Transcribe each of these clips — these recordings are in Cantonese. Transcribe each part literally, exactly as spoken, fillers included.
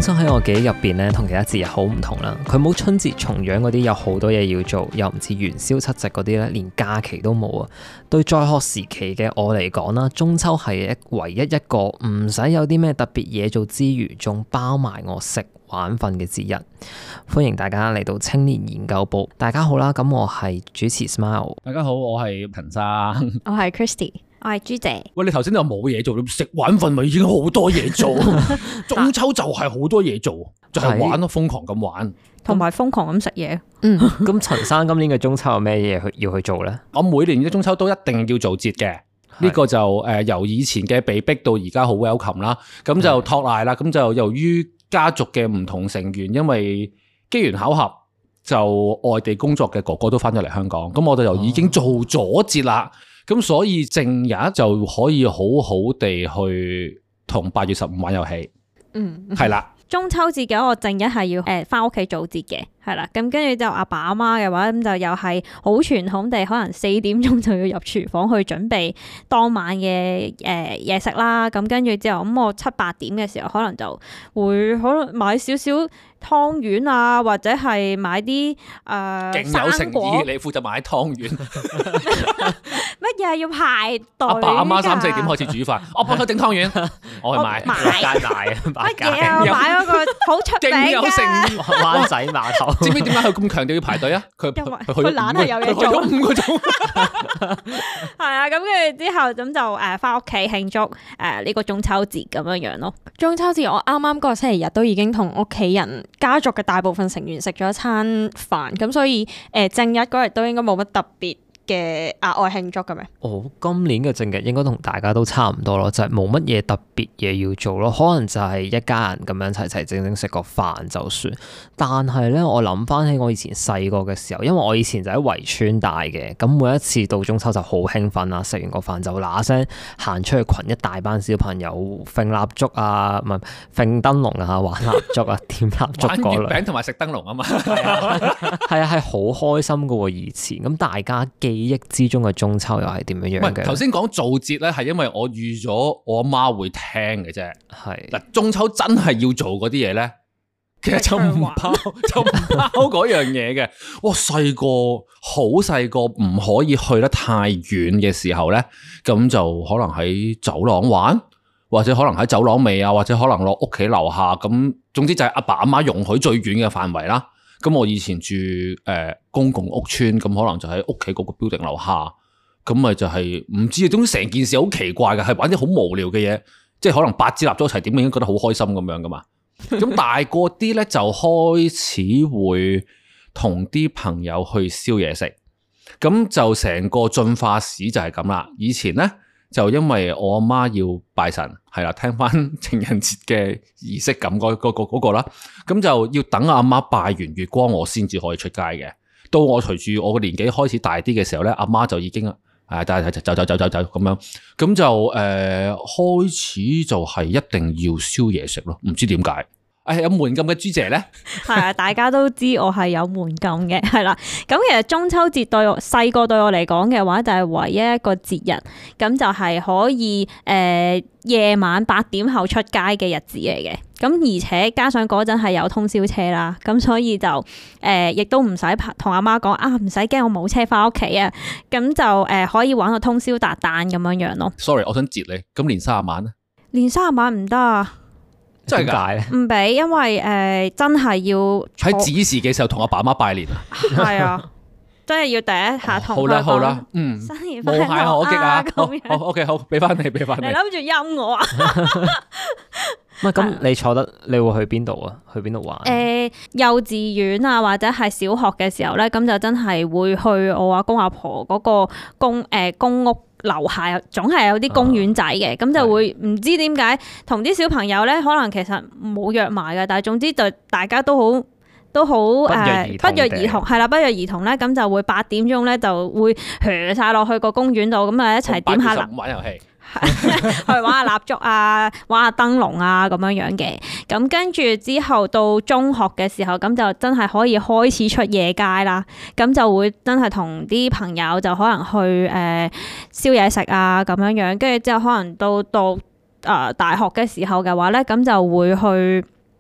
秋喺我記憶入邊咧，同其他節日好唔同啦。佢冇春節重陽嗰啲有好多嘢要做，又唔似元宵七夕嗰啲咧，連假期都冇啊。對在學時期嘅我嚟講啦，中秋係一唯一一個唔使有啲咩特別嘢做之餘，仲包埋我食玩瞓嘅節日。歡迎大家嚟到青年研究部。大家好啦，咁我係主持 Smile。 大家好，我係陳生， 我係 Christy。我係朱姐。 喂，你頭先都話冇嘢做，食玩瞓咪已經好多嘢做。中秋就係好多嘢做，就係、是、玩咯，瘋狂咁玩， 同埋瘋狂咁食嘢。 嗯，咁陳生今年嘅中秋有咩嘢去要去做咧？ 我每年嘅中秋都一定要做節嘅，呢個就誒、呃、由以前嘅被逼到而家好 welcome 啦。咁就托賴啦，咁就由於家族嘅唔同成員，因為機緣巧合，就外地工作嘅哥哥都翻咗嚟香港，咁我哋就已經做咗節啦。咁、哦、所以正日就可以好好地去同八月十五玩遊戲。嗯，係啦。 中秋節嘅我正日係要誒翻屋企做節嘅，係啦。咁跟住就阿爸阿媽嘅話，咁就又係好傳統地，可能四點鐘就要入廚房去準備當晚嘅誒嘢食啦。咁跟住之後，咁我七八點嘅時候，可能就會可能買少少湯圓啊，或者係買啲誒勁有誠意，你負責買湯圓。 乜嘢要排隊？阿爸阿媽三四點開始煮飯，我幫佢整湯圓，我去買買街買乜嘢啊？買嗰個好出名嘅， 勁有誠意灣仔碼頭。 知唔知點解佢咁強調要排隊啊？佢佢懶係有嘢做， 佢去咗五個鐘。 係啊，咁跟住之後咁就誒翻屋企慶祝誒呢個中秋節咁樣樣咯。 中秋節我啱啱嗰個星期日都已經同屋企人家族嘅大部分成員食咗一餐飯，咁所以誒正日嗰日都應該冇乜特別嘅額外慶祝嘅咩？ 哦，今年嘅正日應該同大家都差唔多咯，就係冇乜嘢特別嘢要做咯，可能就係一家人咁樣齊齊整整食個飯就算。但係咧，我諗翻起我以前細個嘅時候，因為我以前就喺圍村大嘅，咁每一次到中秋就好興奮啦，食完個飯就嗱聲行出去，群一大班小朋友揈蠟燭啊，唔係揈燈籠啊，玩蠟燭啊，點蠟燭嗰類。 玩月餅同埋食燈籠啊嘛， 係啊，係好開心噶喎！以前咁大家記憶之中嘅中秋又係點樣樣嘅？ 頭先講做節咧，係因為我預咗我阿媽會聽嘅啫。係嗱，中秋真係要做嗰啲嘢咧，其實就唔包就唔包嗰樣嘢嘅。哇，細個好細個唔可以去得太遠嘅時候咧，咁就可能喺走廊玩，或者可能喺走廊尾啊，或者可能落屋企樓下。咁總之就係阿爸阿媽容許最遠嘅範圍啦。咁我以前住誒、呃、公共屋邨，咁可能就喺屋企嗰個 building 樓下，咁咪就係、是、唔知啊，總之成件事好奇怪嘅，係玩啲好無聊嘅嘢，即係可能八支蠟燭一齊點，已經覺得好開心咁樣噶嘛。咁大個啲咧就開始會同啲朋友去燒嘢食，咁就成個進化史就係咁啦。以前咧就因為我阿媽要拜神，係啦，聽翻情人節嘅儀式感嗰嗰個嗰個啦，咁就要等阿媽拜完月光，我先至可以出街嘅。到我隨住我個年紀開始大啲嘅時候咧，阿媽就已經誒，走走走走走走咁樣，咁就誒、呃、開始就係一定要燒嘢食咯，唔知點解。誒，有門禁嘅朱姐咧， 係啊，大家都知我係有門禁嘅，係啦。咁其實中秋節對我細個對我嚟講嘅話，就係唯一一個節日，咁就係可以誒、呃、夜晚八點後出街嘅日子嚟嘅。咁而且加上嗰陣係有通宵車啦，咁所以就誒亦、呃、都唔使同阿媽講啊，唔使驚我冇車翻屋企啊。咁就誒、呃、可以玩到通宵達旦咁樣樣咯。 Sorry， 我想截你，咁年卅晚咧？ 年卅晚唔得啊！ 真係解咧？ 唔俾，因為誒、呃、真係要喺子時嘅時候同阿爸媽拜年啊。係啊，真係要第一下同、哦。好啦好啦，嗯， 新年快樂無懈可擊啊！好， 樣好 OK， 好，俾翻你，俾翻你。 你諗住陰我啊？ 唔係咁，你坐得你會去邊度啊？去邊度玩？誒、 呃，幼稚園啊，或者係小學嘅時候咧，咁就真係會去我阿公阿婆嗰個公誒、呃、公屋。樓下總係有啲公園仔嘅，咁、啊、就會唔知點解同啲小朋友咧，可能其實冇約埋嘅，但係總之就大家都好都好誒不約而同，係啦，不約而同咧，咁就會八點鐘咧就會踱晒落去個公園度，咁啊一齊點下蠟玩遊戲。 去玩下蠟燭啊，玩下燈籠啊，咁樣樣嘅。咁跟住之後到中學嘅時候，咁就真係可以開始出夜街啦。咁就會真係同啲朋友就可能去誒燒嘢食啊，咁樣樣。跟住之後可能到到誒、呃、大學嘅時候嘅話咧，咁就會去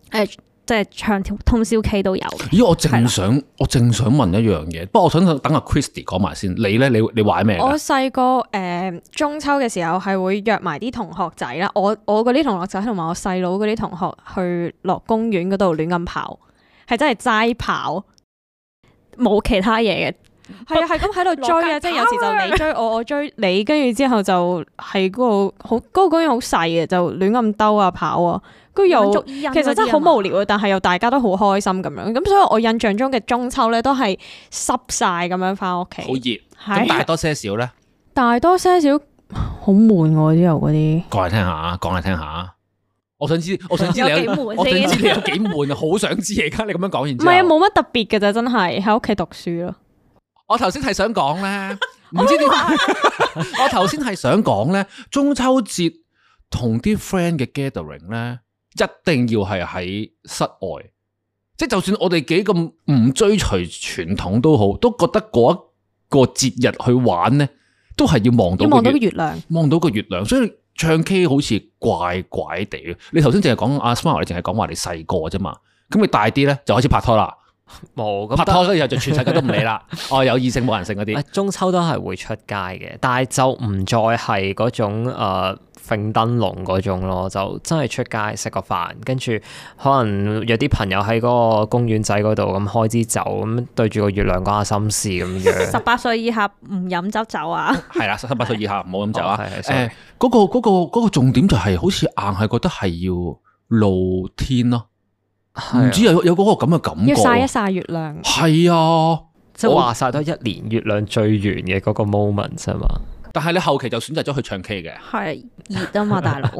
誒。即係唱通宵 K 都有。 咦！我正想，我正想問一樣嘢，不過我想等阿 Christy 講埋先。你咧，你你玩咩？ 我細個誒中秋嘅時候係會約埋啲同學仔啦，我我嗰啲同學仔同埋我細佬嗰啲同學去落公園嗰度亂咁跑，係真係齋跑，冇其他嘢嘅。係啊，係咁喺度追啊！即係有時就你追我，我追你，跟住之後就係嗰個好嗰個公園好細嘅，就亂咁兜啊跑啊。又其實真係好無聊啊，但係又大家都好開心咁樣，咁所以我印象中嘅中秋咧都係濕晒咁樣翻屋企， 好熱。咁大多些少咧？ 大多些少好悶喎，之後嗰啲。 講嚟聽下，講嚟聽下。我想知，我想知你有，我想知你有幾悶啊！好想知而家你咁樣講完之後。 唔係啊，冇乜特別嘅咋，真係喺屋企讀書咯。 我頭先係想講咧，唔知點解。我頭先係想講咧，中秋節同啲 friend 嘅 gathering 咧。一定要係喺室外，即係就算我哋幾咁唔追隨傳統都好，都覺得嗰一個節日去玩咧，都係要望到個月亮，望到個月亮。所以唱 K 好似怪怪地嘅。你頭先淨係講阿 Smile，你淨係講話你細個啫嘛，咁你大啲咧就開始拍拖啦。冇拍拖嗰日就全世界都唔理啦。哦，有異性冇人性嗰啲。 中秋都係會出街嘅，但係就唔再係嗰種誒揈燈籠嗰種咯，就真係出街食個飯，跟住可能約啲朋友喺嗰個公園仔嗰度咁開支酒，咁對住個月亮講下心事咁樣。 十八歲以下唔飲酒酒啊？ 係啦，十八歲以下唔好飲酒啊。誒、哦，嗰、嗰個嗰、嗰個嗰個重點就係好似硬係覺得係要露天咯。唔知有有嗰個咁嘅感覺， 要曬一曬月亮。 係啊， 即係話曬多一年月亮最圓嘅嗰個 moment 啫嘛。 但係你後期就選擇咗去唱 K 嘅， 係熱啊嘛，大佬。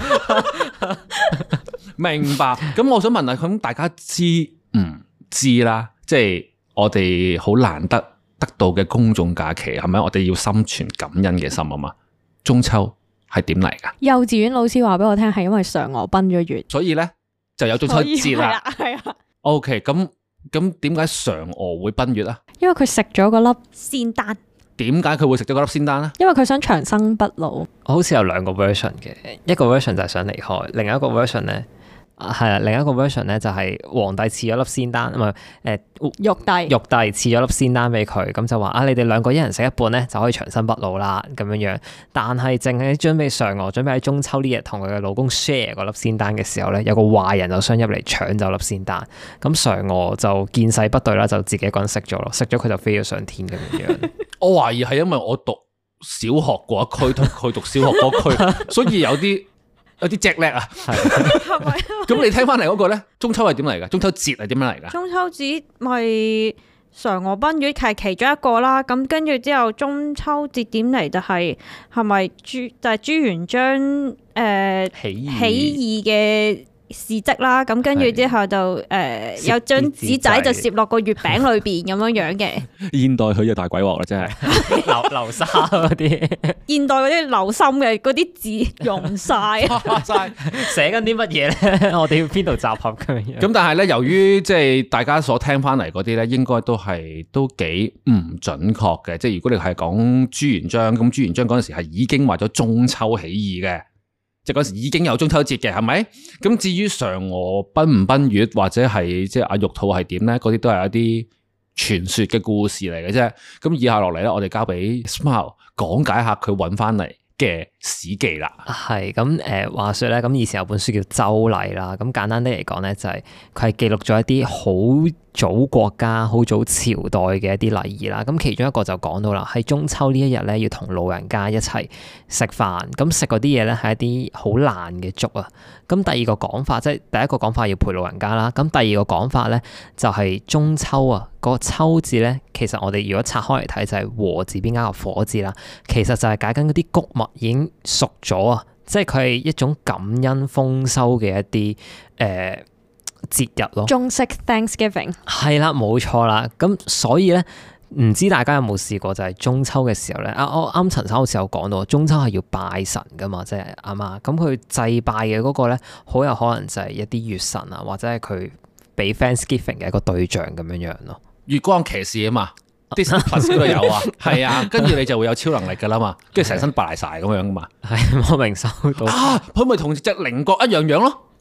明白。咁我想問下，咁大家知唔知啦？即係我哋好難得得到嘅公眾假期，係咪？我哋要心存感恩嘅心啊嘛。中秋係點嚟㗎？ 幼稚園老師話俾我聽，係因為嫦娥奔咗月， 所以咧。就有中秋節啦， 係啊。 O K， 咁咁點解嫦娥會奔月啊？ 因為佢食咗嗰粒仙丹。 點解佢會食咗嗰粒仙丹咧？ 因為佢想長生不老。 好似有兩個 version 嘅，一個 version 就係想離開，另一個 version 咧。係啊，另一個 version 咧就係皇帝賜咗粒仙丹，唔係誒玉帝， 玉帝賜咗粒仙丹俾佢，咁就話啊，你哋兩個一人食一半咧就可以長生不老啦咁樣樣。但係淨係準備嫦娥準備喺中秋呢日同佢嘅老公 share 嗰粒仙丹嘅時候咧，有個壞人就想入嚟搶走粒仙丹，咁嫦娥就見勢不對啦，就自己一個人食咗咯，食咗佢就飛咗上天咁樣樣。 我懷疑係因為我讀小學嗰一區同佢讀小學嗰區，所以有啲。有啲隻叻啊，係咪？咁你聽翻嚟嗰個咧，中秋係點嚟噶？中秋節係點樣嚟噶？ 中秋節咪嫦娥奔月係其中一個啦。咁跟住之後，中秋節點嚟就係係咪朱就係、是、朱元璋誒、呃、起義嘅事蹟啦。咁跟住之後就誒、呃、有張紙仔就攝落個月餅裏邊咁樣樣嘅。 現代佢就大鬼鑊啦，真係流流沙嗰啲。 現代嗰啲流心嘅嗰啲字用晒， 寫緊啲乜嘢咧？我哋要邊度集合咁樣？ 咁但係咧，由於即係大家所聽翻嚟嗰啲咧，應該都係都幾唔準確嘅。即係如果你係講朱元璋，咁朱元璋嗰陣時係已經為咗中秋起義嘅。即係嗰時已經有中秋節嘅，係咪？咁至於嫦娥奔唔奔月，或者係即係阿玉兔係點咧？嗰啲都係一啲傳說嘅故事嚟嘅啫。咁以下落嚟咧，我哋交俾 Smile 講解下佢揾翻嚟嘅史記啦。 係咁誒，話說咧，咁以前有本書叫《周禮》啦。咁簡單啲嚟講咧，就係佢係記錄咗一啲好早國家、好早朝代嘅一啲禮儀啦。咁其中一個就講到啦，喺中秋呢一日咧，要同老人家一齊食飯。咁食嗰啲嘢咧係一啲好爛嘅粥啊。咁第二個講法，即係第一個講法要陪老人家啦。咁第二個講法咧就係中秋啊，嗰個秋字咧，其實我哋如果拆開嚟睇就係禾字邊加個火字啦。其實就係解緊嗰啲穀物已經熟咗啊，即係佢係一種感恩豐收嘅一啲誒。呃節日咯， 中式 Thanksgiving 係啦，冇錯啦。咁所以咧，唔知大家有冇試過就係中秋嘅時候咧？啊，我啱陳生好似有講到，中秋係要拜神噶嘛，即係啱嘛。咁佢祭拜嘅嗰個咧，好有可能就係一啲月神啊，或者係佢俾 Thanksgiving 嘅一個對象咁樣樣咯。 月光騎士啊嘛，Disney Plus 都有啊，係啊，跟住你就會有超能力噶啦嘛，跟住成身白晒咁樣噶嘛。 係我明收到啊，佢咪同隻菱角一樣樣咯。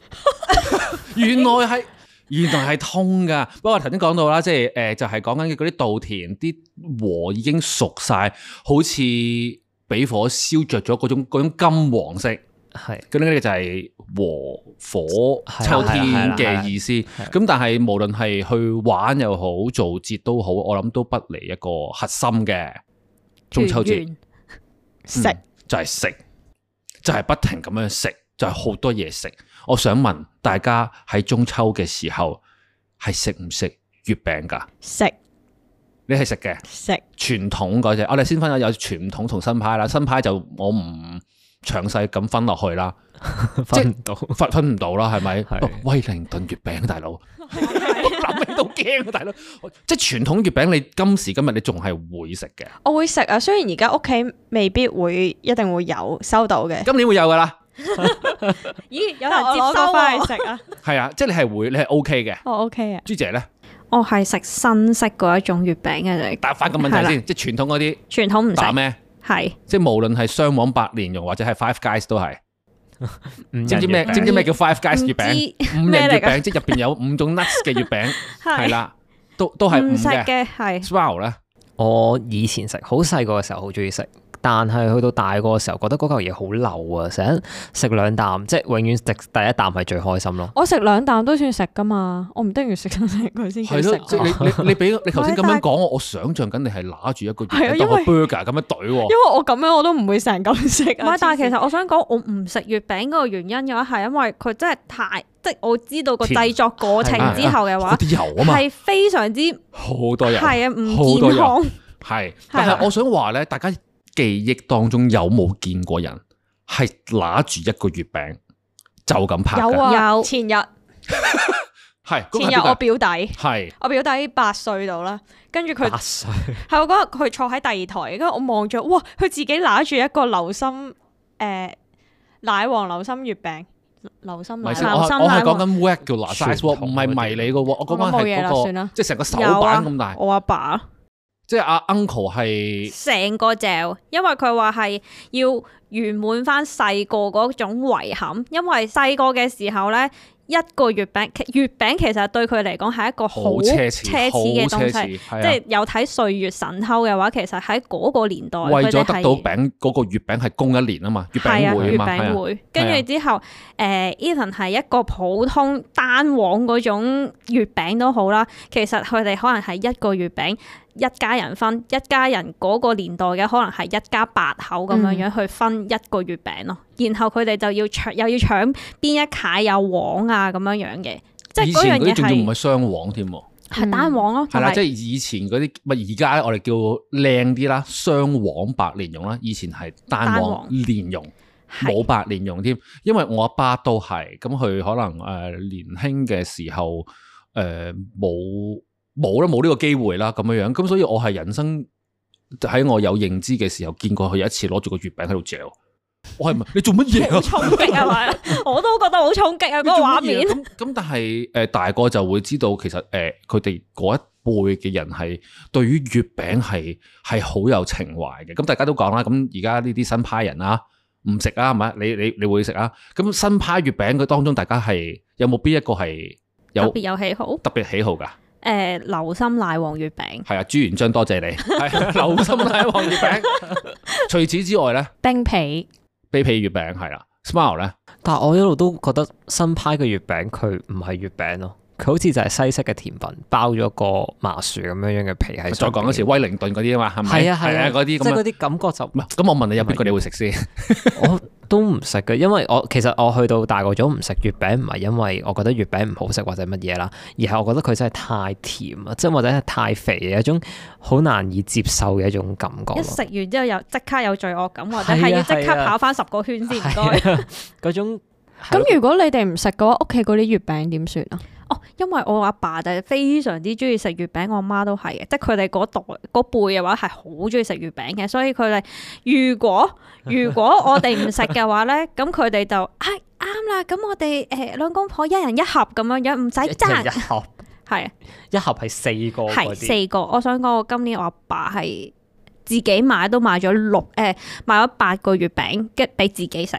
原來係原來係通噶。不過頭先講到啦，即係誒就係講緊嗰啲稻田啲禾已經熟晒，好似俾火燒着咗嗰種嗰種金黃色。係，咁呢個就係禾火秋天嘅意思。咁但係無論係去玩又好，做節都好，我諗都不離一個核心嘅中秋節。食、嗯、就係、是、食，就係、是、不停咁樣食，就係、是、好多嘢食。我想問大家喺中秋嘅時候係食唔食月餅噶？食，你係食嘅。食傳統嗰隻，我哋先分咗有傳統同新派啦。新派就我唔詳細咁分落去啦，分唔到，分分唔到啦，係咪？威靈頓月餅，大佬，諗起都驚啊，大佬！即係傳統月餅，你今時今日你仲係會食嘅？ 我會食啊，雖然而家屋企未必會一定會有收到嘅， 今年會有噶啦。 咦？有人接收翻去食啊？ 係啊，即係你係會，你係 O K 嘅。 我 O K 啊。 朱姐咧？ 我係食新式嗰一種月餅嘅啫。 答翻個問題先，即係傳統嗰啲。傳統唔食。打咩？係，即係無論係雙黃白蓮蓉或者係 Five Guys 都係，知唔知咩？知唔知咩叫 Five Guys 月餅？五仁月餅，即係入邊有五種 nuts 嘅月餅，係啦，都都係唔食嘅。係 Swallow 咧，我以前食，好細個嘅時候好中意食。但係去到大個嘅時候，覺得嗰嚿嘢好流啊！成日食兩啖，即係永遠食第一啖係最開心咯。我食兩啖都算食噶嘛，我唔一定要食緊佢先叫食。係咯，即係你你你俾你頭先咁樣講，我我想象緊你係拿住一個月當個 burger 咁樣懟喎。因為我咁樣我都唔會成嚿食。唔係，但係其實我想講，我唔食月餅嗰個原因嘅話，係因為佢真係太，即係我知道個製作過程之後嘅話，啲油啊嘛，係非常之好多油，係啊，唔健康。係，但係我想話咧，大家記憶當中有冇見過人係拿住一個月餅就咁拍嘅？有啊，有前日係前日我表弟係我表弟八歲度啦，跟住佢八歲係我嗰日佢坐喺第二台，跟住我望住，哇！佢自己拿住一個流心誒、呃、奶黃流心月餅，流心奶黃。我我係講緊 regular size 唔係迷你嘅喎，我講緊係嗰個即係成個手板咁大。我阿爸，爸。即係阿 uncle 係成個嚼，因為佢話係要圓滿翻細個嗰種遺憾，因為細個嘅時候咧，一個月餅，月餅其實對佢嚟講係一個好奢侈嘅東西，即係有睇《歲月神偷》嘅話，其實喺嗰個年代，為咗得到餅嗰個月餅係供一年啊嘛，月餅會啊嘛，月餅會，跟住之後，誒 Ethan 係一個普通單黃嗰種月餅都好啦，其實佢哋可能係一個月餅。一家人分，一家人嗰個年代嘅可能係一家八口咁樣樣去分一個月餅咯，嗯、然後佢哋就要搶，又要搶邊一塊有黃啊咁樣樣嘅，即係嗰樣嘢係。以前嗰啲仲要唔係雙黃添，係單黃咯。係啦，即係以前嗰啲，咪而家我哋叫靚啲啦，雙黃白蓮蓉啦。以前係單黃蓮蓉，冇白蓮蓉添。因為我阿爸都係，咁佢可能誒、呃、年輕嘅時候誒冇。呃冇啦，冇呢個機會啦，咁樣樣，咁所以我係人生喺我有認知嘅時候，見過佢有一次攞住個月餅喺度嚼，我係唔係你做乜嘢啊？衝擊係咪？我都覺得好衝擊啊！嗰個畫面。咁咁，但係誒大個就會知道，其實誒佢哋嗰一輩嘅人係對於月餅係係好有情懷嘅。咁大家都講啦，咁而家呢啲新派人啊，唔食啊，係咪？你你你會食啊？咁新派月餅佢當中，大家係有冇邊一個係有特別有喜好？特別喜好㗎？誒、呃，流心奶黃月餅係啊，朱元璋多謝你。係流心奶黃月餅。除此之外咧，冰皮冰皮月餅係啦 ，Smile 咧。但係我一路都覺得新派嘅月餅佢唔係月餅咯，佢好似就係西式嘅甜品，包咗個麻薯咁樣樣嘅皮喺。再講一次，威靈頓嗰啲啊嘛，係咪？係啊係啊，嗰啲即係嗰啲感覺就唔係。咁我問你有邊個你會食先？我都唔食嘅，因為我其實我去到大個咗唔食月餅，唔係因為我覺得月餅唔好食或者乜嘢啦，而係我覺得佢真係太甜啊，即係或者係太肥嘅一種好難以接受嘅一種感覺。一食完之後又即刻有罪惡感，或者係要即刻跑翻十個圈先唔該。嗰種。咁如果你哋唔食嘅話，屋企嗰啲月餅點算啊？哦，因為我阿爸就係非常之中意食月餅，我阿媽都係嘅，即係佢哋嗰代嗰輩嘅話係好中意食月餅嘅，所以佢哋如果如果我哋唔食嘅話咧，咁佢哋就係啱啦。咁我哋誒兩公婆一人一盒咁樣樣，唔使爭。一盒係啊，一盒係四個，係四個。我想講，我今年我阿爸係自己買都買咗六誒、呃、買咗八個月餅，跟俾自己食。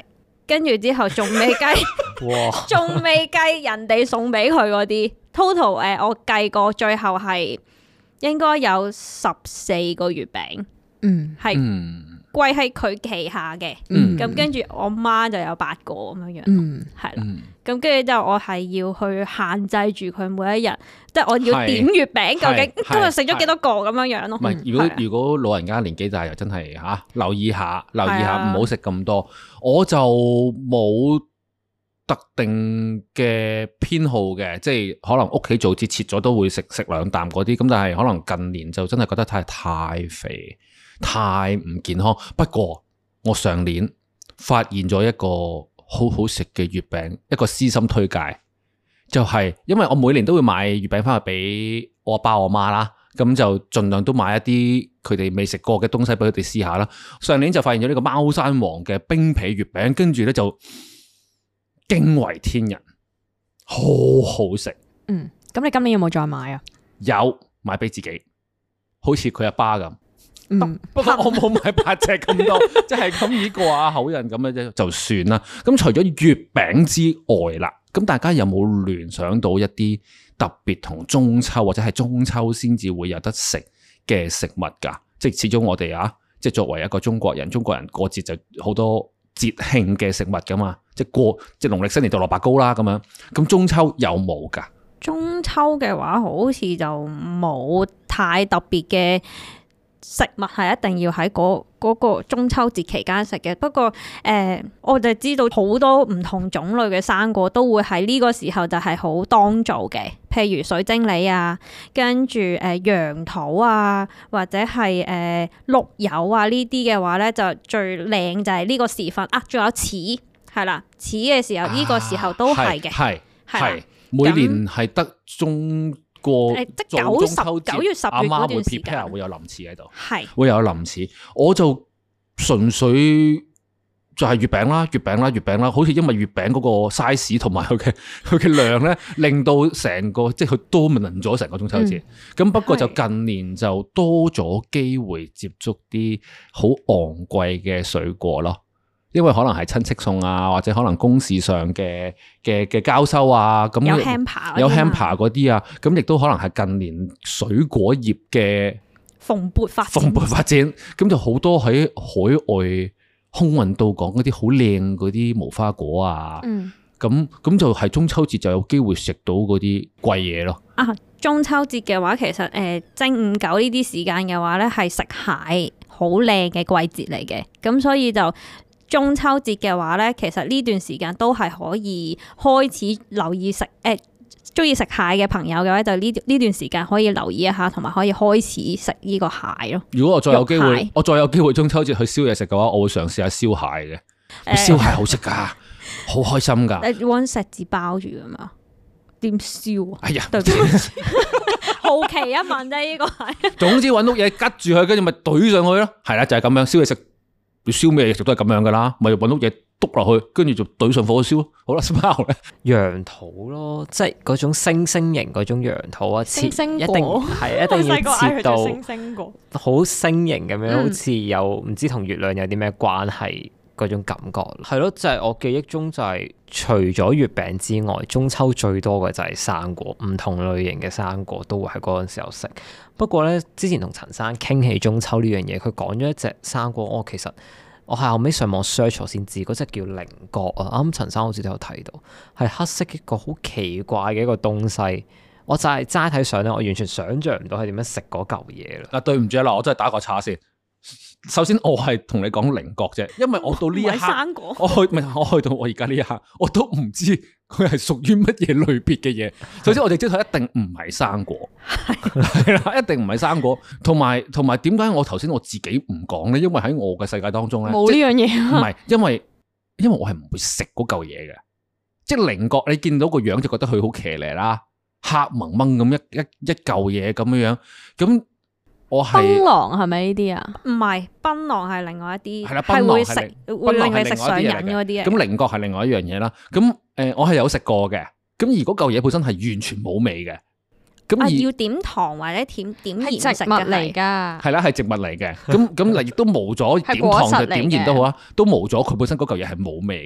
跟住之後仲未計，仲未計人哋送俾佢嗰啲 total 誒、呃，我計過最後係應該有十四個月餅，嗯，係歸喺佢旗下嘅，嗯，咁跟住我媽就有八個咁樣樣，嗯，係啦，咁跟住之後我係要去限制住佢每一日，即係我要點月餅，究竟今日食咗幾多個咁樣樣咯？唔係， 如果如果老人家年紀大又真係吓、啊、留意下，留意下唔好食咁多。我就冇特定嘅偏好嘅，即係可能屋企做節切咗都會食食兩啖嗰啲，咁但係可能近年就真係覺得太太肥。太唔健康。不過我上年發現咗一個好好食嘅月餅，一個私心推介，就係、是、因為我每年都會買月餅翻去俾我阿爸我媽啦，咁就盡量都買一啲佢哋未食過嘅東西俾佢哋試下啦。上年就發現咗呢個貓山王嘅冰皮月餅，跟住咧就驚為天人，好好食。 嗯，咁你今年有冇再買啊？ 有買俾自己，好似佢阿爸咁。 嗯、 不過我冇買八隻咁多，即係咁以過下口癮咁樣啫，就算啦。咁除咗月餅之外啦，咁大家有冇聯想到一啲特別同中秋或者係中秋先至會有得食嘅食物㗎？即係始終我哋啊，即係作為一個中國人，中國人過節就好多節慶嘅食物㗎嘛，即係過即係農曆新年就蘿蔔糕啦咁樣。咁中秋有冇㗎？ 中秋嘅話，好似就冇太特別嘅食物係一定要喺嗰嗰個中秋節期間食嘅。不過誒、呃，我就知道好多唔同種類嘅生果都會喺呢個時候就係好當造嘅，譬如水晶梨啊，跟住誒楊桃啊，或者係誒綠柚啊呢啲嘅話咧，就最靚就係呢個時份啊。仲有柿係啦，柿嘅時候呢、啊、個時候都係嘅，係係每年係得中。過即九十九月十月嗰段時間，阿媽會 prepare 會有林柿喺度， 係會有林柿。我就純粹就係月餅啦，月餅啦，月餅啦。好似因為月餅嗰個 size 同埋佢嘅佢嘅量咧，令到成個即係佢 dominate 咗成個中秋節。咁、嗯、不過就近年就多咗機會接觸啲好昂貴嘅水果咯。因為可能係親戚送啊，或者可能公事上嘅嘅嘅交收啊，咁有 hamper 有 hamper 嗰啲啊，咁亦都可能係近年水果業嘅蓬勃發蓬勃發展，咁就好多喺海外空運到港嗰啲好靚嗰啲無花果啊，咁咁、嗯、就係中秋節就有機會食到嗰啲貴嘢咯。 啊，中秋節嘅話，其實誒、呃、正午九呢啲時間嘅話咧，係食蟹好靚嘅季節嚟嘅，咁所以就。中秋節嘅話咧，其實呢段時間都係可以開始留意食誒，中意食蟹嘅朋友嘅話，就呢呢段時間可以留意一下，同埋可以開始食呢個蟹咯。 如果我再有機會，我再有機會中秋節去燒嘢食嘅話，我會嘗試下燒蟹嘅。燒蟹好食噶，好開心噶。 你搵錫紙包住噶嘛？點燒啊？ 哎呀， 對好奇一問啫，呢個係。 總之搵碌嘢吉住佢，跟住咪懟上去咯。係啦，就係咁樣燒嘢食。你燒咩嘢食都係咁樣噶啦，咪搵到嘢篤落去，跟住就懟上火燒咯。好啦，包咧楊桃咯，即係嗰種星星形嗰種楊桃啊，切星星一定係一定要切到星星果好星形咁樣，嗯、好似有唔知同月亮有啲咩關係嗰種感覺。係咯，就係、是、我記憶中就係、是、除咗月餅之外，中秋最多嘅就係生果，唔同類型嘅生果都會喺嗰陣時候食。不過咧，之前同陳生傾起中秋呢樣嘢，佢講咗一隻生果，我、哦、其實我係後尾上網 search 先知，嗰隻叫菱角啊。啱陳生好似都有睇到，係黑色一個好奇怪嘅一個東西。我就係齋睇相咧，我完全想像唔到係點樣食嗰嚿嘢啦。 啊，對唔住啦，我真係打個叉先。首先我係同你講菱角啫，因為我到呢一刻，我去唔係我去到我而家呢一刻，我都唔知佢係屬於乜嘢類別嘅嘢。首先我哋知道一定唔係生果，係啦，一定唔係生果。同埋同埋點解我頭先我自己唔講咧？因為喺我嘅世界當中咧， 冇呢樣嘢。 唔係，因為因為我係唔會食嗰嚿嘢嘅，即係菱角，你見到個樣就覺得佢好騎呢啦，黑蒙蒙咁一一一嚿嘢咁樣樣咁。我係檳榔係咪呢啲啊？ 唔係，檳榔係另外一啲， 係啦， 係會食會令你食上癮嗰啲。 咁菱角係另外一樣嘢啦。咁誒、呃，我係有食過嘅。咁而嗰嚿嘢本身係完全冇味嘅。咁、 啊、要點糖或者點點鹽食嘅嚟㗎。係啦，係植物嚟嘅。咁咁嗱，亦都冇咗點糖就點鹽都好啊，都冇咗佢本身嗰嚿嘢係冇味嘅。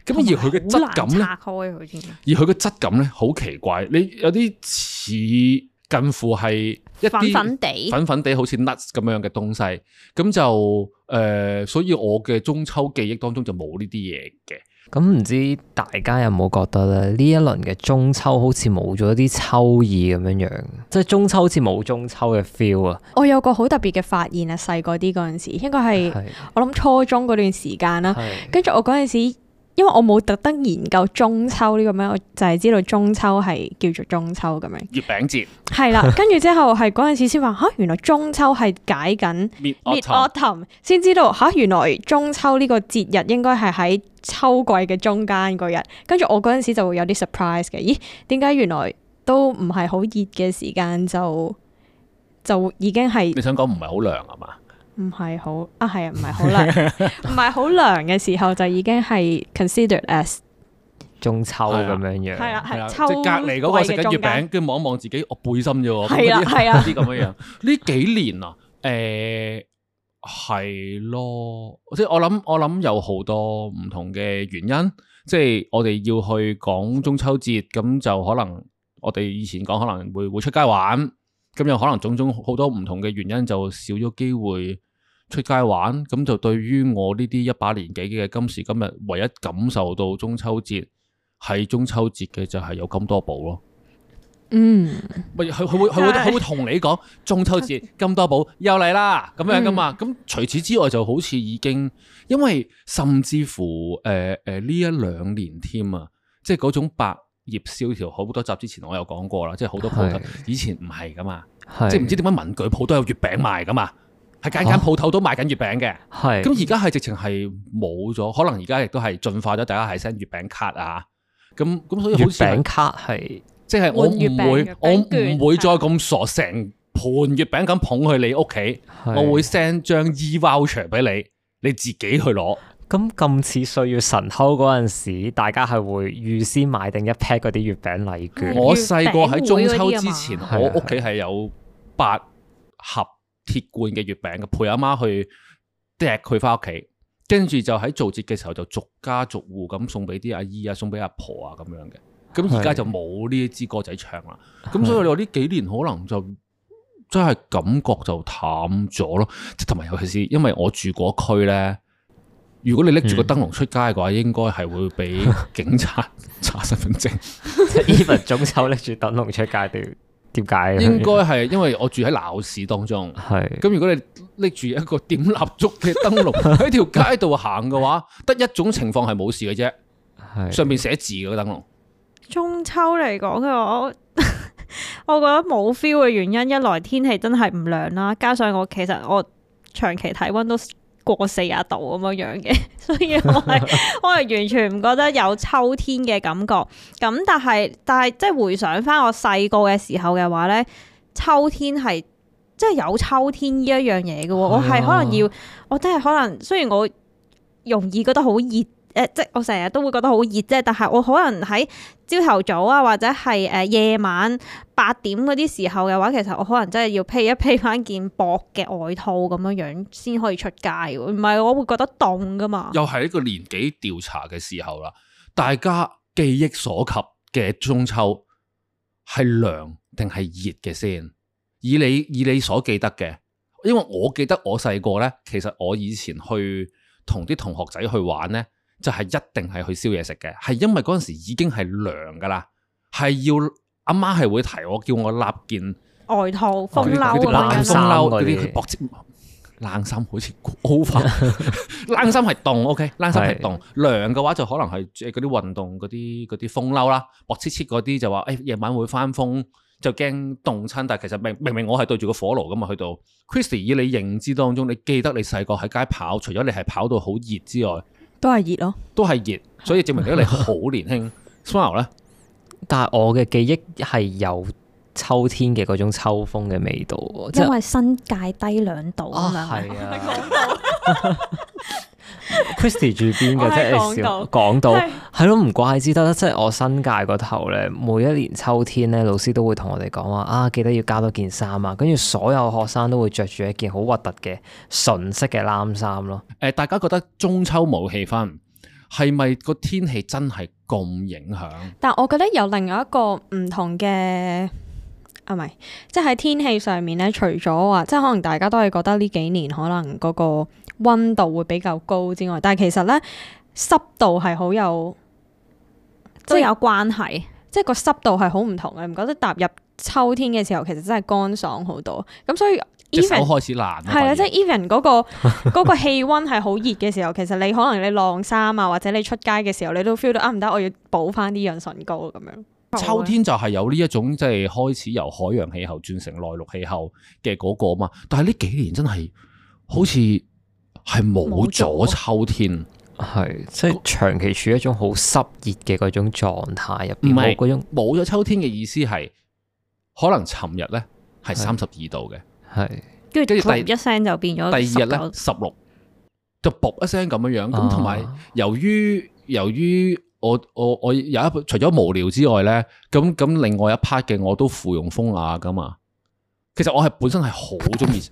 咁而佢嘅質感咧， 拆開佢添。 而佢嘅質感咧好奇怪，你有啲似近乎係一啲粉粉地、 粉粉地好似 nuts 咁樣嘅東西，咁就誒、呃，所以我嘅中秋記憶當中就冇呢啲嘢嘅。 咁唔知大家有冇覺得咧？呢一輪嘅中秋好似冇咗啲秋意咁樣樣，即係中秋好似冇中秋嘅 feel 啊！ 我有個好特別嘅發現啊，細個啲嗰陣時，應該係係我諗初中嗰段時間啦。 係跟住我嗰陣時，因為我冇特登研究中秋呢個咩，我就係知道中秋係叫做中秋咁樣。 月餅節係啦，跟住之後係嗰陣時先話嚇，原來中秋係解緊 Mid Mid Autumn Autumn，先知道嚇，原來中秋呢個節日應該係喺秋季嘅中間嗰日。跟住我嗰陣時就會有啲 surprise 嘅，咦？點解原來都唔係好熱嘅時間就就已經係？ 你想講唔係好涼啊嘛？ 唔係好啊，係啊，唔係好涼，唔係好涼嘅時候就已經係 considered as 中秋咁樣樣。 係啦， 係啦， 係即係隔離嗰個食緊月餅，跟住望一望自己，我背心啫喎。係啊，係啊，啲咁樣樣。呢幾年啊，誒係咯，即係我諗，我諗有好多唔同嘅原因。即係我哋要去講中秋節，咁就可能我哋以前講可能會會出街玩，咁有可能種種好多唔同嘅原因，就少咗機會出街玩。咁就對於我呢啲一把年紀嘅今時今日，唯一感受到中秋節係中秋節嘅就係有金多寶咯。 嗯， 咪佢佢會佢會佢會同你講中秋節金多寶又嚟啦咁樣噶嘛。咁、嗯、除此之外就好似已經，因為甚至乎誒誒呢一兩年添啊，即係嗰種百業蕭條，好多集之前我有講過啦，即係好多鋪頭以前唔係噶嘛，即係唔知點解文具鋪都有月餅賣噶嘛，係間間鋪頭都賣緊月餅嘅。係咁而家係直情係冇咗，可能而家亦都係進化咗，大家係 send 月餅卡啊。咁咁所以好似月餅卡係。 即係我唔會，我唔會再咁傻，成盤月餅咁捧去你屋企，我會 send 張 e-voucher 俾你，你自己去攞。 咁咁似歲月神偷嗰陣時，大家係會預先買定一 pack 嗰啲月餅禮券。 我細個喺中秋之前，我屋企係有八盒鐵罐嘅月餅嘅，陪阿媽去掟佢翻屋企，跟住就喺做節嘅時候就逐家逐戶咁送俾啲阿姨啊，送俾阿婆啊咁樣嘅。咁而家就冇呢一支歌仔唱啦，咁所以你話呢幾年可能就真係感覺就淡咗咯，即同埋尤其是因為我住嗰區咧，如果你拎住個燈籠出街嘅話，嗯、應該係會俾警察查身份證。 even 中秋拎住燈籠出街都要點解？ 應該係因為我住喺鬧市當中，係咁是如果你拎住一個點蠟燭嘅燈籠喺條街度行嘅話，得一種情況係冇事嘅啫，係是上面寫字嘅個燈籠。 中秋嚟講嘅我，我覺得冇 feel 嘅原因，一來天氣真係唔涼啦，加上我其實我長期體溫都過四十度咁樣樣嘅，所以我係我係完全唔覺得有秋天嘅感覺。咁但係但係即係回想翻我細個嘅時候嘅話咧，秋天係即係有秋天呢一樣嘢嘅喎。我係可能要，我真係可能雖然我容易覺得好熱。誒，即係我成日都會覺得好熱啫，但係我可能喺朝頭早啊，或者係誒夜晚八點嗰啲時候嘅話，其實我可能真係要披一披翻件薄嘅外套咁樣樣先可以出街，唔係我會覺得凍噶嘛。 又係一個年紀調查嘅時候啦，大家記憶所及嘅中秋係涼定係熱嘅先？以你以你所記得嘅，因為我記得我細個咧，其實我以前去同啲同學仔去玩咧。就係一定係去燒嘢食嘅，係因為嗰陣時已經係涼噶啦，係要阿媽係會提我，叫我立件外套、風褸、 冷衫嗰啲薄織冷衫，好似 over 冷衫係凍，OK， 冷衫係凍，涼嘅話就可能係嗰啲運動嗰啲嗰啲風褸啦，薄切切嗰啲就話誒夜晚會翻風，就驚凍親，但係其實明明明我係對住個火爐噶嘛，去到 Christy 以你認知當中，你記得你細個喺街跑，除咗你係跑到好熱之外。 都係熱咯， 都係熱，所以證明咗你好年輕。Smile 咧， 但係我嘅記憶係有秋天嘅嗰種秋風嘅味道， 因為新界低兩度啊嘛。係啊 ，Christy 住邊嘅？即係講到係咯，唔怪之得，即係我新界嗰頭咧，每一年秋天咧，老師都會同我哋講話啊，記得要加多件衫啊，跟住所有學生都會着住一件好核突嘅純色嘅冷衫咯。 誒，大家覺得中秋冇氣氛， 係咪個天氣真係咁影響？ 但我覺得有另外一個唔同嘅。啊，唔係，即係喺天氣上面咧，除咗話，即係可能大家都係覺得呢幾年可能嗰個溫度會比較高之外，但係其實咧濕度係好有都有關係， 即係個濕度係好唔同嘅。你唔覺得踏入秋天嘅時候，其實真係乾爽好多？咁所以 even 隻手開始爛， 係啦，即係 even 嗰個嗰個氣溫係好熱嘅時候，其實你可能你晾衫啊，或者你出街嘅時候，你都 feel 到啊，唔得，我要補翻啲潤唇膏咁樣。 秋天就係有呢一種即係開始由海洋氣候轉成內陸氣候嘅嗰個嘛，但係呢幾年真係好似係冇咗秋天， 係即係長期處於一種好濕熱嘅嗰種狀態入邊，冇嗰種冇咗秋天嘅意思係可能尋日咧係三十二度嘅，係跟住第一聲就變咗第二日咧十六，就卜一聲咁樣樣，咁同埋由於由於。我我我有一除咗無聊之外咧，咁咁另外一 part 嘅我都附庸風雅噶嘛。其實我係本身係好中意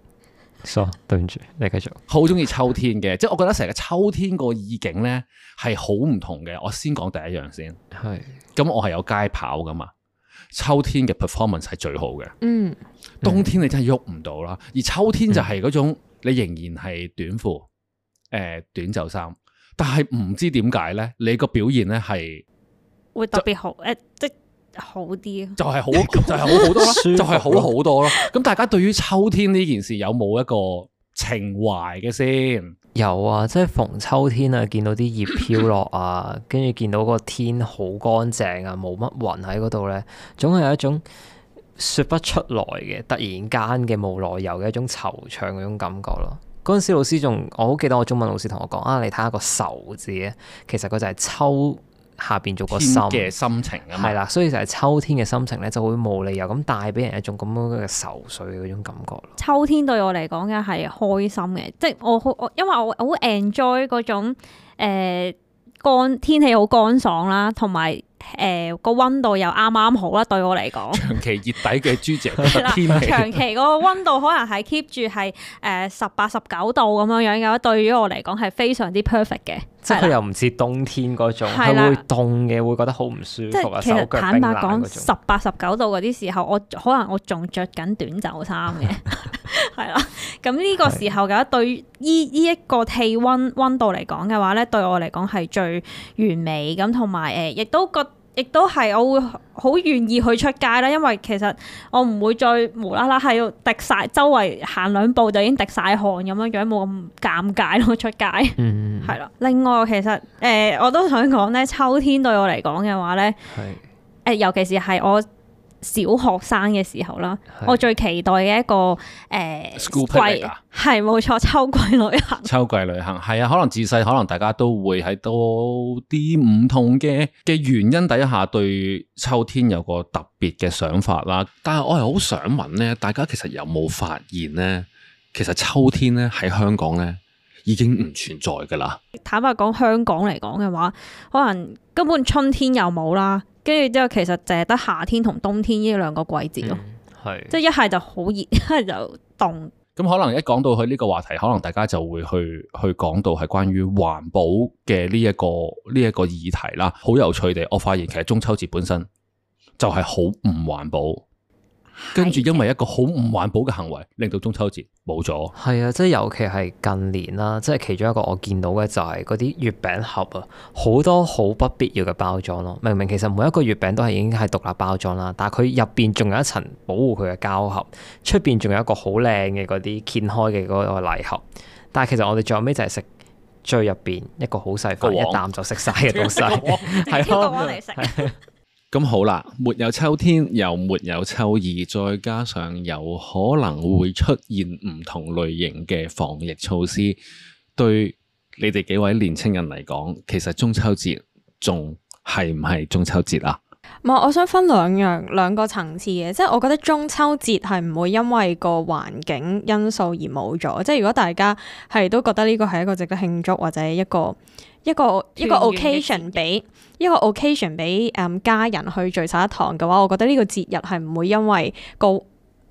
，so 對唔住，你繼續。 好中意秋天嘅，即係我覺得成個秋天個意境咧係好唔同嘅。我先講第一樣先，係是。咁我係有街跑噶嘛，秋天嘅 performance 係最好嘅。嗯。冬天你真係喐唔到啦，而秋天就係嗰種、嗯、你仍然係短褲，誒、呃、短袖衫。但係唔知點解咧，你個表現咧係會特別好，誒就，即好啲， 就係好，就係好好多啦，就係好好多咯。咁大家對於秋天呢件事有冇一個情懷嘅先？ 有啊，即係逢秋天啊，見到啲葉飄落啊，跟住見到個天好乾淨啊，冇乜雲喺嗰度咧，總係有一種說不出來嘅突然間嘅無來由嘅一種惆悵嗰種感覺咯。嗰陣時老師仲，我好記得我中文老師同我講啊，你睇下個愁字咧，其實佢就係秋下邊做個心嘅心情啊嘛， 係啦，所以就係秋天嘅心情咧，就會無理由咁帶俾人一種咁樣嘅愁緒嘅嗰種感覺咯。 秋天對我嚟講嘅係開心嘅，即係我好我因為我好 enjoy 嗰種誒乾天氣好乾爽啦，同埋。誒個溫度又啱啱好啦，對我嚟講。 長期熱底嘅豬姐覺得天氣。 長期個溫度可能係 keep 住係誒十八十九度咁樣樣嘅，對於我嚟講係非常之 perfect 嘅。 即係佢又唔似冬天嗰種，係會凍嘅，會覺得好唔舒服啊！ 即係其實坦白講，十八十九度嗰啲時候，我可能我仲着緊短袖衫嘅，係啦。咁呢個時候嘅對於依依一個氣溫溫度嚟講嘅話咧，對我嚟講係最完美咁，同埋誒亦都覺。亦都係我會好願意去出街啦，因為其實我唔會再無啦啦喺度滴晒，周圍行兩步就已經滴晒汗咁樣樣，冇咁尷尬咯出街。嗯，係啦。另外其實誒、呃，我都想講咧，秋天對我嚟講嘅話咧，係誒是、呃，尤其是係我小學生嘅時候啦，是我最期待嘅一個誒、呃、 School picnic 啊， 係冇錯，秋季旅行。 秋季旅行係啊，可能自細可能大家都會喺多啲唔同嘅嘅原因底下對秋天有個特別嘅想法啦。但係我係好想問咧，大家其實有冇發現咧？其實秋天咧喺香港咧已經唔存在噶啦。 坦白講，香港嚟講嘅話，可能根本春天又冇啦。跟住之後，其實淨係得夏天同冬天呢兩個季節咯，係、嗯、即係一係就好熱，一係就凍。 咁可能一講到去呢個話題，可能大家就會去去講到係關於環保嘅呢一個呢一個議題啦。好有趣地，我發現其實中秋節本身就係好唔環保。跟住因為一個好唔環保嘅行為，令到中秋節冇咗。 係啊，即係尤其係近年啦，即係其中一個我見到嘅就係嗰啲月餅盒啊，好多好不必要嘅包裝咯。明明其實每一個月餅都係已經係獨立包裝啦，但係佢入邊仲有一層保護佢嘅膠盒，出邊仲有一個好靚嘅嗰啲掀開嘅嗰個禮盒。但係其實我哋最後尾就係食最入邊一個好細塊，一啖就食晒嘅東西，係咯。嚟食。 咁好啦，沒有秋天，又沒有秋意，再加上有可能會出現唔同類型嘅防疫措施，對你哋幾位年青人嚟講，其實中秋節仲係唔係中秋節啊？ 唔係，我想分兩樣兩個層次嘅，即係我覺得中秋節係唔會因為個環境因素而冇咗，即係如果大家係都覺得呢個係一個值得慶祝或者一個一個一個 occasion 俾一個 occasion 俾誒家人去聚晒一堂嘅話，我覺得呢個節日係唔會因為個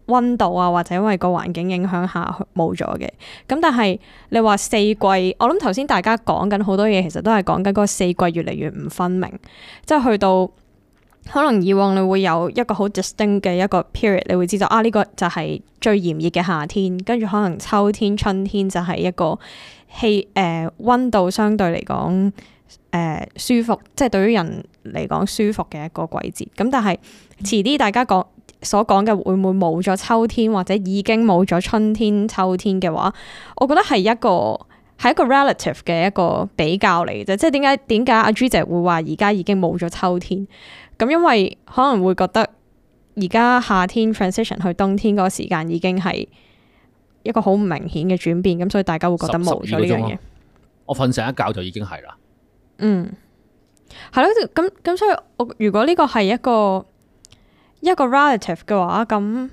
溫度啊，或者因為個環境影響下冇咗嘅。咁但係你話四季，我諗頭先大家講緊好多嘢，其實都係講緊嗰個四季越嚟越唔分明，即係去到可能以往你會有一個好 distinct 嘅一個 period，你會知道啊呢個就係最炎熱嘅夏天，跟住可能秋天、春天就係一個氣誒溫度相對嚟講誒舒服，即係對於人嚟講舒服嘅一個季節。咁但係遲啲大家講所講嘅會唔會冇咗秋天，或者已經冇咗春天、秋天嘅話，我覺得係一個係一個 relative 嘅一個比較嚟嘅啫。即係點解點解阿朱姐會話而家已經冇咗秋天？咁因為可能會覺得而家夏天 transition 去冬天嗰個時間已經係一個好唔明顯嘅轉變，咁所以大家會覺得冇咗呢樣嘢。 我瞓醒一覺就已經係啦。 嗯，係咯，咁咁所以我如果呢個係一個一個 relative 嘅話，咁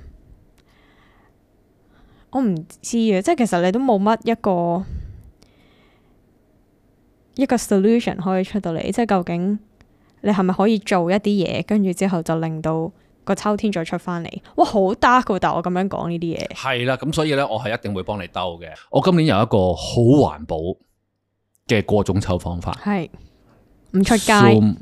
我唔知啊，即係其實你都冇乜一個一個 solution 可以出到嚟，即係究竟你係咪可以做一啲嘢，跟住之後就令到個秋天再出翻嚟？哇，好 dark 㗎，但我咁樣講呢啲嘢。係啦，咁所以咧，我係一定會幫你兜嘅。我今年有一個好環保嘅過中秋方法， 係唔出街。 Zoom。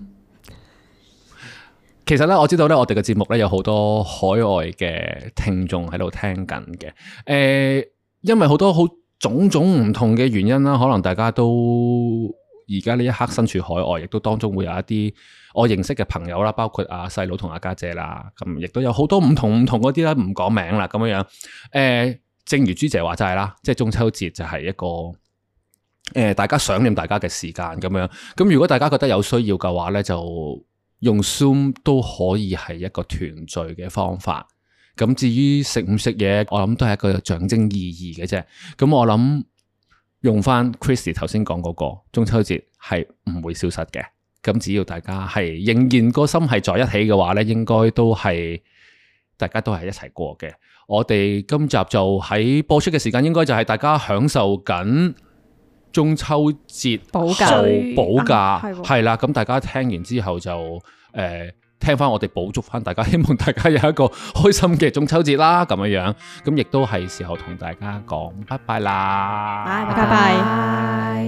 其實咧，我知道咧，我哋嘅節目咧有好多海外嘅聽眾喺度聽緊嘅。誒、呃，因為好多好種種唔同嘅原因啦，可能大家都而家呢一刻身處海外，亦都當中會有一啲我認識嘅朋友啦，包括阿細佬同阿家姐啦，咁亦都有好多唔同唔同嗰啲啦，唔講名啦，咁樣樣。誒、呃，正如朱姐話齋啦，即係中秋節就係一個誒、呃，大家想念大家嘅時間咁樣。咁如果大家覺得有需要嘅話咧，就用 Zoom 都可以係一個團聚嘅方法。咁至於食唔食嘢，我諗都係一個象徵意義嘅啫。咁我諗用翻 Christy 頭先講嗰個中秋節係唔會消失嘅。咁只要大家係仍然個心係在一起嘅話咧，應該都係大家都係一齊過嘅。我哋今集就喺播出嘅時間，應該就係大家享受緊中秋節補假做補假係啦。咁大家聽完之後就誒、呃、聽翻我哋補足翻大家，希望大家有一個開心嘅中秋節啦。咁樣樣咁亦都係時候同大家講拜拜啦， 拜拜拜。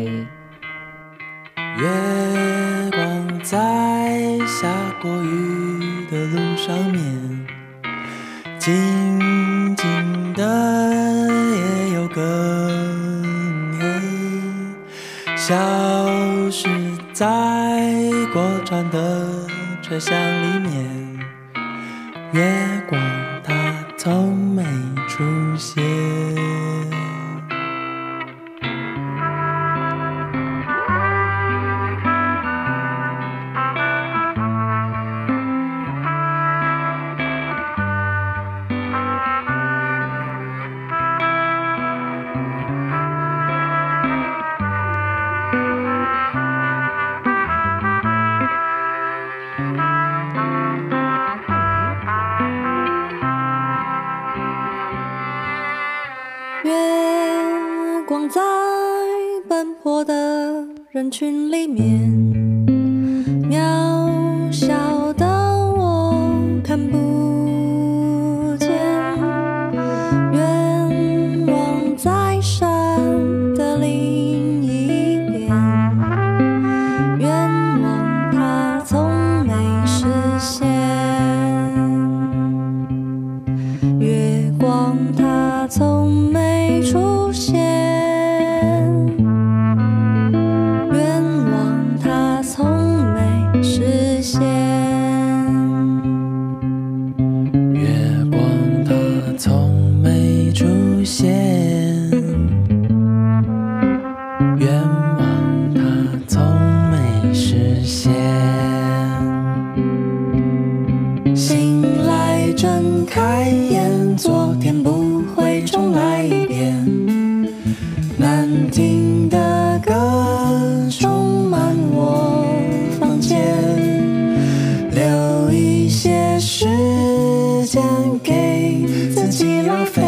月光在下過雨的路上面，靜靜的也有更黑，消失在過站的車廂裡面，月光它從沒出現。在奔波的人群裡面，渺小的我看不見，願望在山的另一邊，願望它從沒實現，月光它從沒出現。留一些時間給自己浪費。